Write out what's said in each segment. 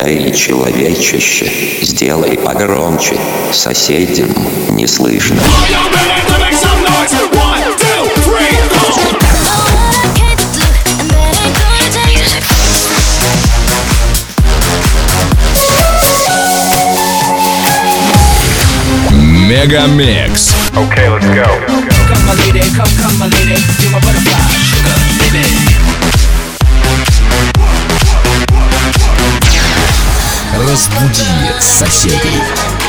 Эй, человечище, сделай погромче, соседям не слышно. Мегамикс. Okay, let's go. Come my lady, come my lady, you're my butterfly, sugar, baby. Разбуди соседей.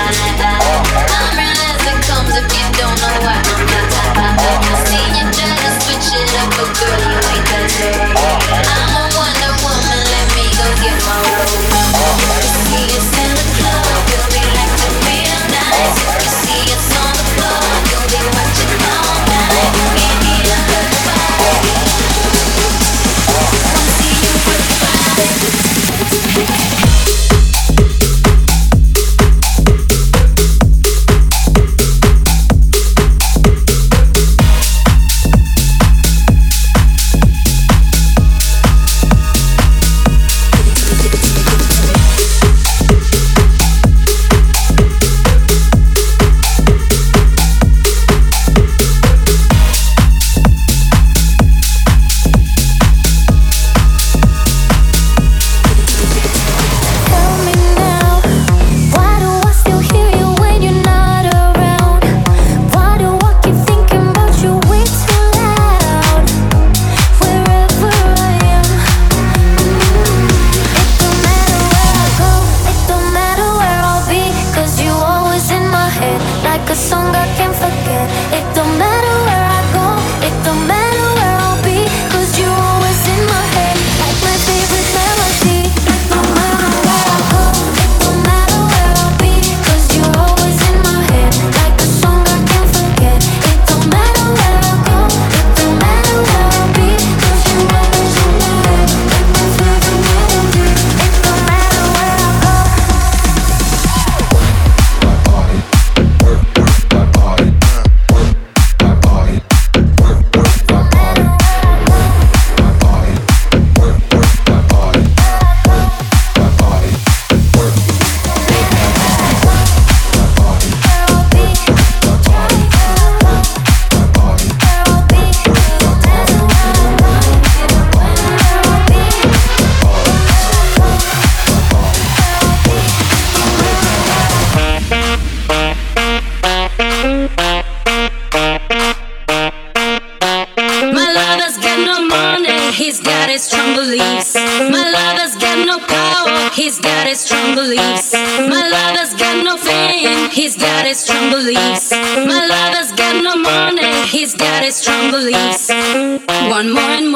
He's got his strong beliefs. My lover's got no power. He's got his strong beliefs. My lover's got no fame. He's got his strong beliefs. My lover's got no money. He's got his strong beliefs. Want more and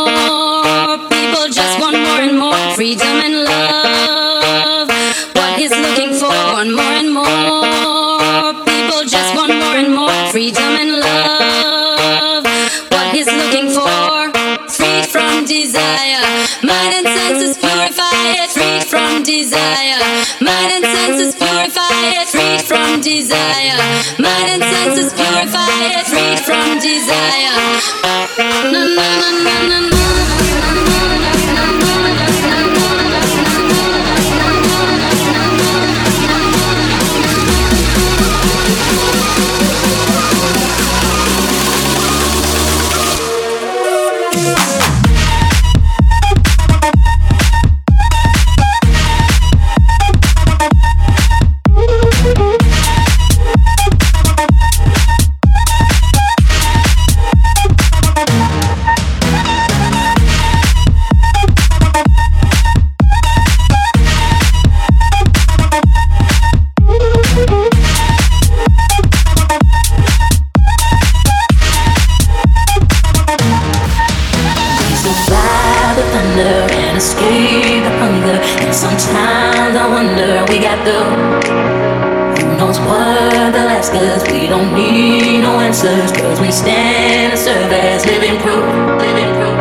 more. People just want more and more. Freedom and love. What he's looking for. Want more and more. People just want more and more. Freedom and love. What he's looking for. Freed from desire, mind and senses purified. Freed from desire, mind and senses purified. Freed from desire, mind and senses purified. Freed from desire. Na na na na na na. Cause we stand and serve as living proof, living proof.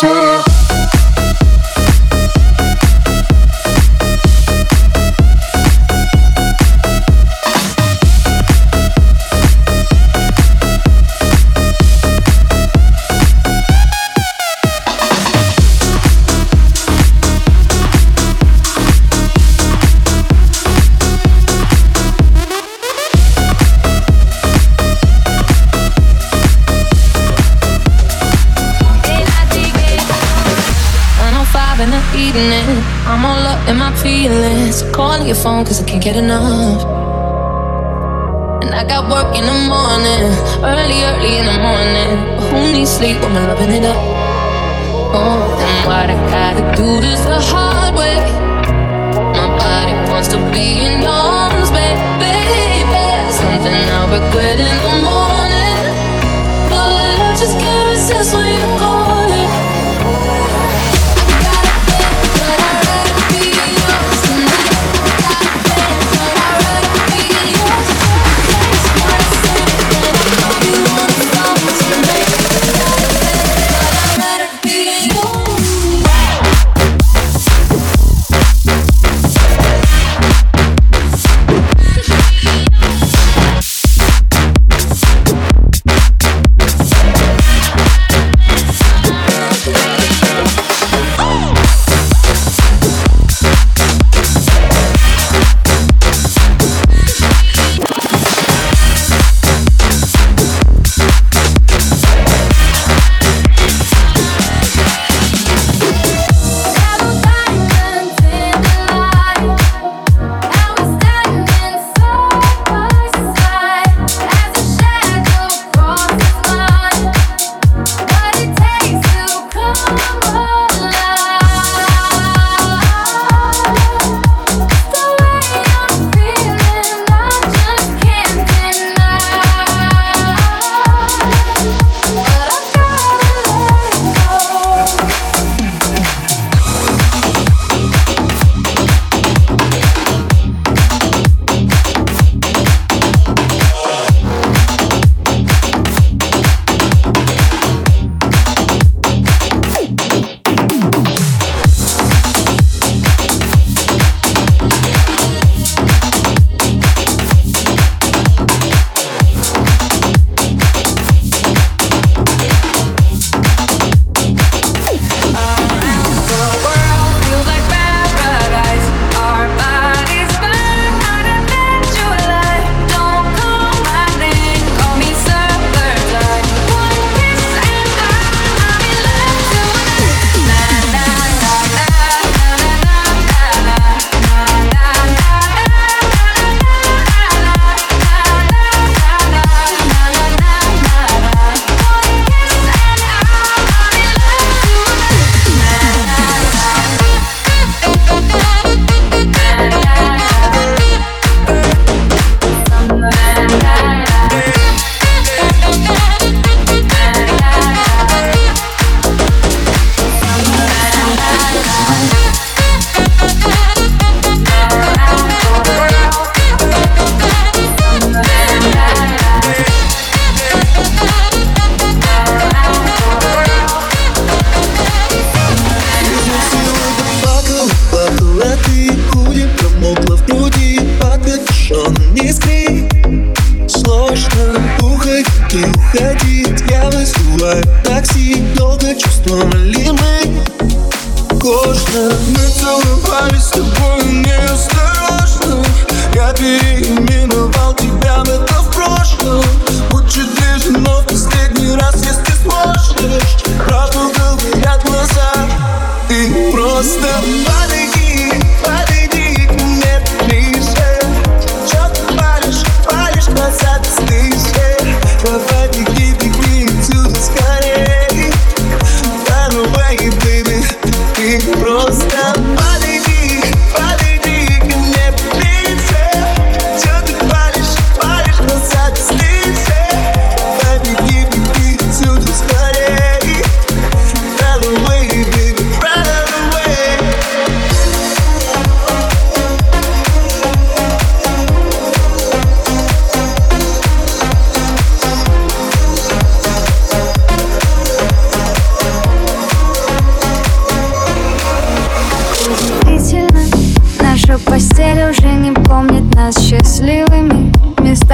I'm all up in my feelings. So calling your phone cause I can't get enough. And I got work in the morning, early in the morning. But who needs sleep when we're loving it up? Oh, and what I gotta do this the hard way. My body wants to be in yours, baby. Something I'll regret in the morning. But I just can't resist when you call it.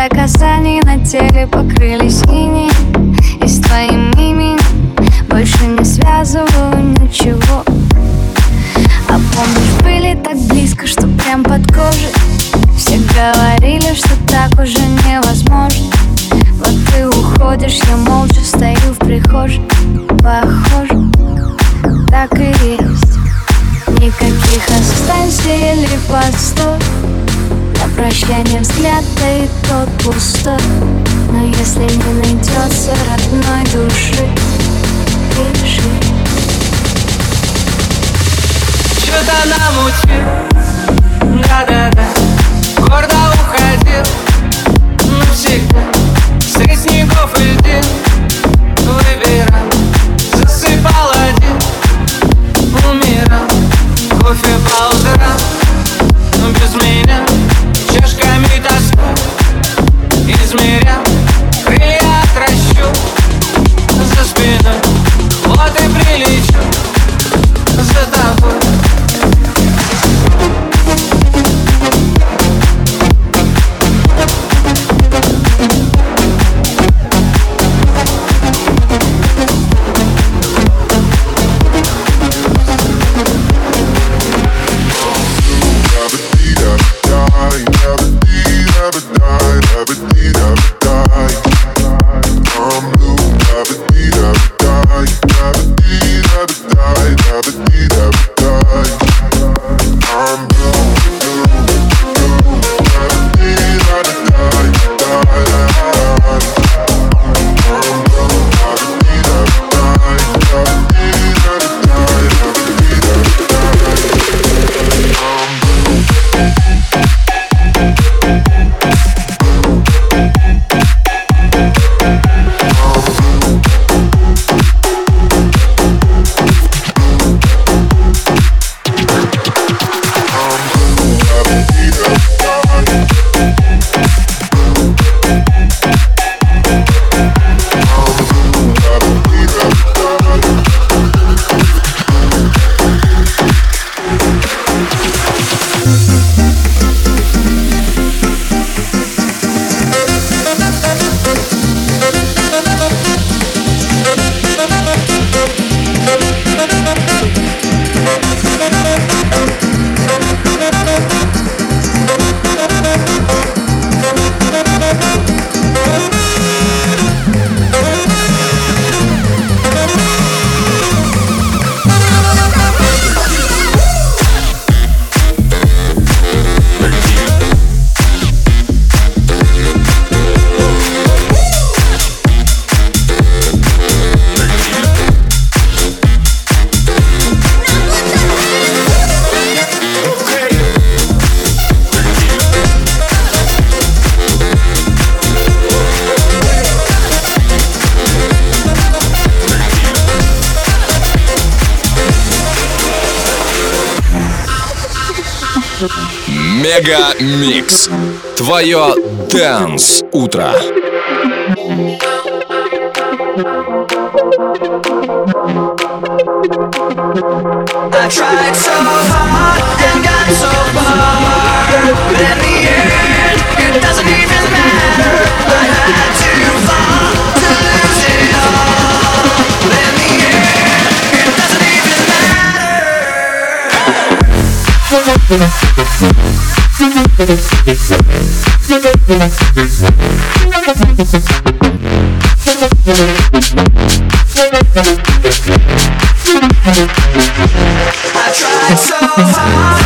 касаний на теле покрылись инеем, и с твоим именем больше не связываю ничего. А помнишь, были так близко, что прям под кожей. Все говорили, что так уже невозможно. Вот ты уходишь, я молча стою в прихожей. Похоже, так и есть. Никаких останься или постой. На прощание взгляд, да и тот пустой. Но если не найдется родной души, пиши. Что-то намутил, да-да-да. Гордо уходил навсегда. Средь снегов и льдин выбирал, засыпал один, умирал. Кофе по утрам, но без меня. Чашками тоска измерял, крылья отращу за спиной. Вот и прилечу за тобой. Мега Микс. Твое Dance утро. I tried so hard and got so far, but in the end, it doesn't even matter. I had to fall to lose it all, but in the end, it doesn't even I tried so hard.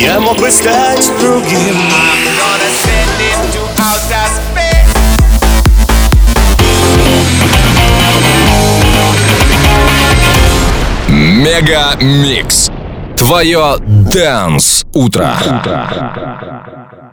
Я мог бы стать другим. Мега Микс. Твое Dance утро.